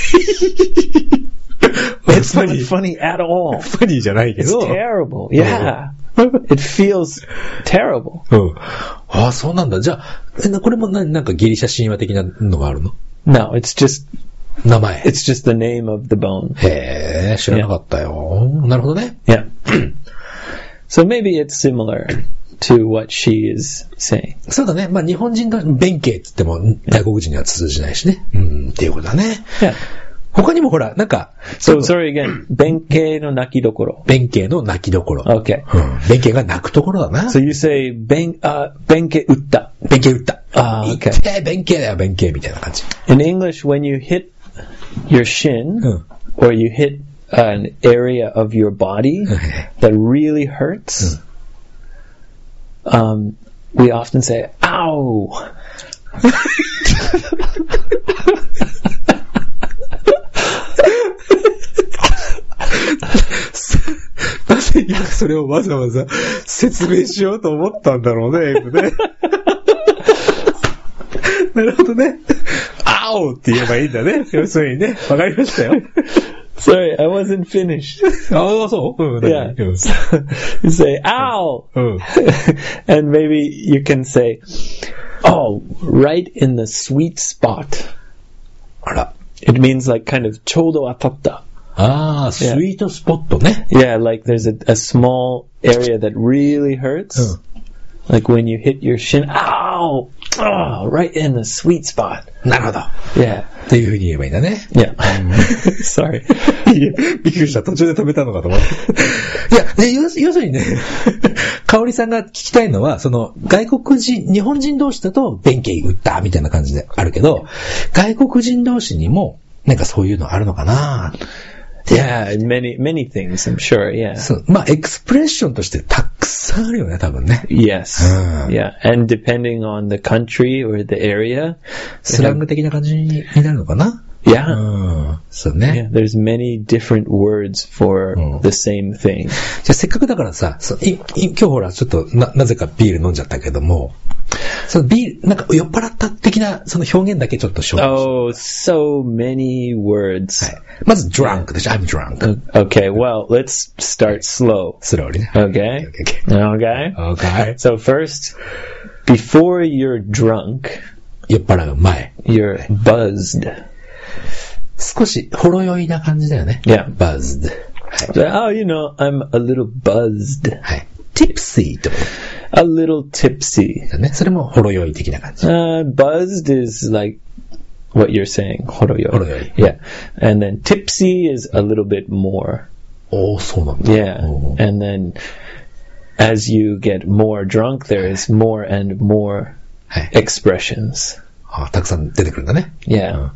It's not funny at all. ファニーじゃないけ It's ど。 terrible. Yeah. It feels terrible. うん。あ、そうなんだ。じゃあ、えなこれもななんかギリシャ神話的なのがあるの？ No, it's just, 名前。 it's just the name of the bone. へえ、知らなかったよ。なるほどね。 Yeah. So maybe it's similar to what she is saying. そうだね。まあ日本人の弁慶って言っても外国人には通じないしね。うん、っていうことだね。 Yeah. 他にもほら、なんか、 So sorry again. Benkei no nakidokoro. 弁慶の泣きどころ。 Okay. うん。弁慶が泣くところだな。 So you say ben, uh, benkei utta. 弁慶打った。 あーい OK って弁慶だよ、弁慶みたいな感じ。 In English, when you hit your shin, うん。 or you hit an area of your body that really hurts, um, we often say, ow! Ow! なぜ今それをわざわざ説明しようと思ったんだろうね、英語ね。なるほどね。青って言えばいいんだね。要するにね。わかりましたよ。 Sorry, I wasn't finished. ああ、そううん。 Yeah. うん You say, ow! うん。 And maybe you can say, oh, right in the sweet spot. あら。 It means like kind of ちょうど当たった. ああ、スイートスポットね。 Yeah, like there's a, a small area that really hurts. Oh. Like when you hit your shin, ow! Oh, right in the sweet spot. なるほど。 Yeah. というふうに言えばいいんだね。 Yeah. Sorry. いや、びっくりした。途中で止めたのかと思って。いや、で要、要するにね、香織さんが聞きたいのは、その、外国人、日本人同士だと、弁慶打ったみたいな感じであるけど、外国人同士にも、なんかそういうのあるのかな。 Yeah, many, many things, I'm sure, yeah. そう。まあ、エクスプレッションとしてたくさんあるよね、多分ね。 Yes. Uh. Yeah. And depending on the country or the area. スラング的な感じになるのかな。 Yeah. うん。そうね。 Yeah, there's many different words for、うん、the same thing. じゃあせっかくだからさ、そういい今日ほらちょっとな、なぜかビール飲んじゃったけども、そのビール、なんか酔っ払った的なその表現だけちょっと紹介して。 Oh, so many words. はい。まず drunk でしょ。I'm drunk. Okay, well, let's start slow. Slowly ね。 Okay. Okay. Okay. Okay. So first, before you're drunk, 酔っ払う前。 You're buzzed. 少しほろ酔いな感じだよね。 Yeah. buzzed. はい。Oh, you know, I'm a little buzzed. はい。tipsy と。 A little tipsy. だね。それもほろ酔い的な感じ。 Uh, buzzed is like what you're saying. ほろ酔い。 ほろ酔い。 Yeah. And then tipsy is a little bit more. おー、そうなんだ。 Yeah. And then as you get more drunk, there is more and more expressions. あ、たくさん出てくるんだね。 Yeah.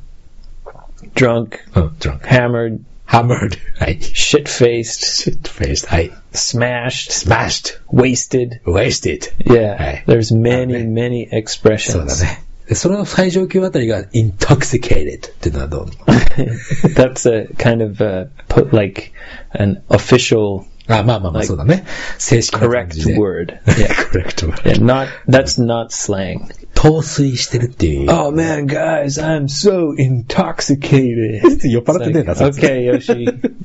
Drunk. うん、drunk. Hammered. Hammered. はい。 Shit-faced. Shit-faced. はい。 Smashed. Smashed. Wasted. Wasted. Yeah. はい。 There's many, many expressions. そうだね。で、その最上級あたりが intoxicated っていうのはどう ？That's a kind of a, put like an official あ、まあまあまあ、そうだね。正式な感じで。 correct word. Yeah. correct word. Yeah, not, that's not slang. 陶酔してるっていう。 Oh man, guys, I'm so intoxicated. 酔っ払ってねえな、 それ。Okay, Yoshi.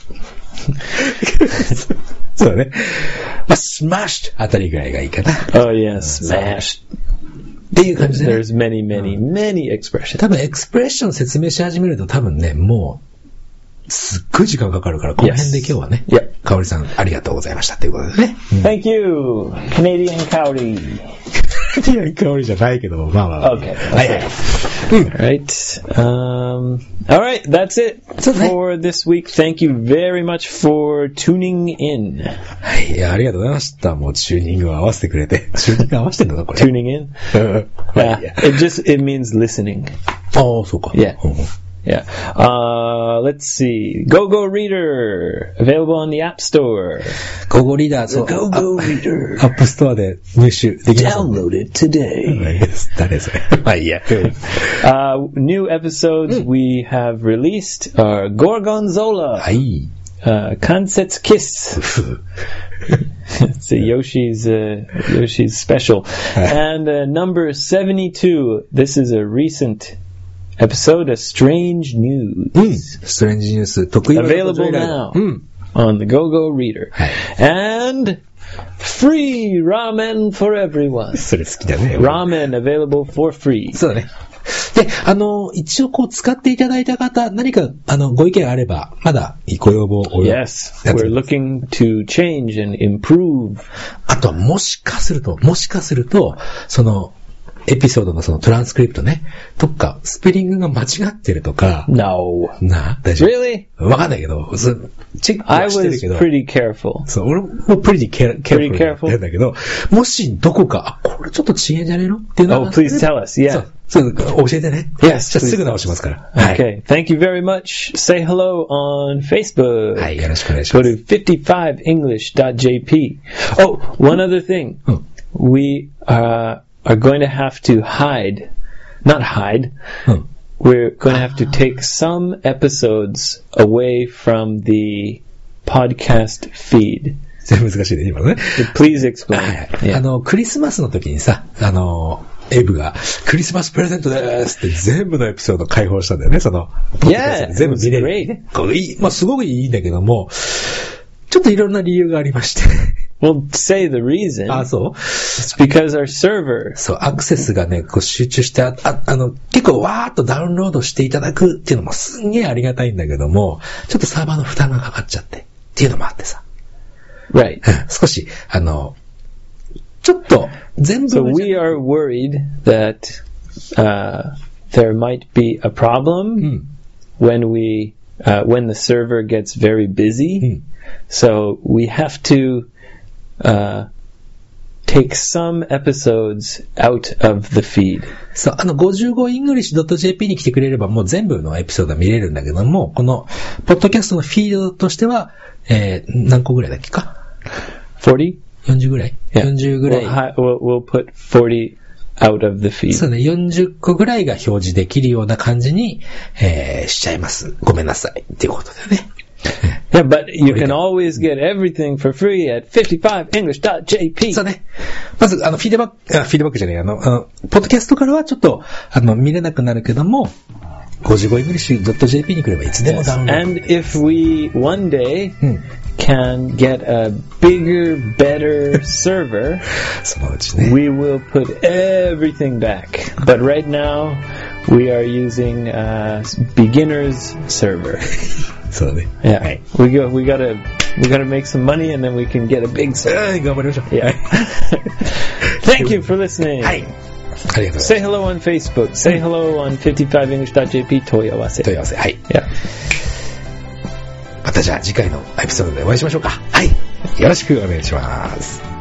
そうだね。まあ、smashed あたりぐらいがいいかな。 Oh yeah, smashed. っていう感じで、ね。 There's many, many, many expressions. 多分エクスプレッション説明し始めると多分ね、もう、すっごい時間かかるから、この辺で今日はね、 yes. Yep. かおりさんありがとうございましたということでね。 Thank you, Canadian Cowdy. カナディアン香りじゃないけども、まあまあ。 Okay. はいはい。 Right. Um, all right. That's it for this week. Thank you very much for tuning in. はい。いや、ありがとうございました。もうチューニングを合わせてくれて。チューニング合わせてんのか、これ。 Tuning in? yeah. It just, it means listening. ああ、そうか。 Yeah. Yeah. Uh, let's see. GoGo Reader. Available on the App Store. GoGo Reader. The GoGo Reader. App Store で入手できます。 Download it today. 誰それ。まあいいや。 uh, new episodes we have released are Gorgonzola. はい。 Uh, Kansetsu Kiss. It's a Yoshi's, uh, Yoshi's special. And uh, number seventy-two. This is a recent episode of Strange News. うん。Strange News 得意なこと。 Available now うん。 on the GoGo Reader. はい。 And free ramen for everyone. それ好きだね。 Ramen available for free. そうだね。で、あの、一応こう使っていただいた方、何か、あの、ご意見あれば、まだご要望を。 Yes, we're looking to change and improve. あとはもしかすると、もしかすると、その、エピソードのそのトランスクリプトね、とか、スペリングが間違ってるとか。 No. な、大丈夫。 Really? わかんないけど、チェックはしてるけど。 I was pretty careful. そう、俺も pretty careful. Pretty careful. なんだけど、もしどこか、あ、これちょっと違えんじゃねえのっていうのが。 Oh, please tell us, yeah. そう、そう教えてね。 Yes. じゃあすぐ直しますから。 はい。Okay. Thank you very much. Say hello on Facebook. はい、よろしくお願いします。 Go to fifty-five english dot j p. Oh, one other thing. うん、 We, uh, are going to have to hide, not hide, hmm. we're going to have to take some episodes away from the podcast feed. 難しいね、今のね。 Please explain. あの、クリスマスの時にさ、あの、エイブが、クリスマスプレゼントですって全部のエピソード開放したんだよね、その、 yeah, 全部見れる。まあ、すごくいいんだけども、ちょっといろんな理由がありまして。 Well, say the reason. あ、そう It's because our server. そう、アクセスがね、こう集中して、あ、あの、結構わーっとダウンロードしていただくっていうのもすんげーありがたいんだけども、ちょっとサーバーの負担がかかっちゃって、っていうのもあってさ。 Right. 少し、あの、 ちょっと、全部。 So we are worried that, uh, there might be a problem、うん、when we, uh, when the server gets very busy.、うん、So we have to, uh, take some episodes out of the feed. そう、あの ごじゅうごイングリッシュドットジェーピー に来てくれればもう全部のエピソードは見れるんだけども、このポッドキャストのフィードとしては、えー、何個ぐらいだっけか ?よんじゅう? よんじゅうぐらい、yeah. よんじゅうぐらい。 We'll, we'll put forty out of the feed. そうね、よんじゅっこぐらいが表示できるような感じに、えー、しちゃいます。ごめんなさい。っていうことだよね。 Yeah, but you can always get everything for free at fifty-five english dot j p. そうね。まず、あの、フィードバック、あ、フィードバックじゃない、あの、あのポッドキャストからはちょっと、あの、見れなくなるけども、ごじゅうごイングリッシュドットジェーピー に来ればいつでもダウンロード。 And if we one day can get a bigger, better server, そのうちね。 we will put everything back. But right now, we are using a beginner's server. そうだね。 Yeah. はい。We go, we gotta, we gotta make some money and then we can get a big server. 頑張りましょう。 Yeah. Thank you for listening. はい。ありがとうございます。 Say hello on Facebook. Say hello on fifty-five english dot j p. 問い合わせ。 問い合わせ。はい。 Yeah. またじゃあ次回のエピソードでお会いしましょうか。はい。よろしくお願いします。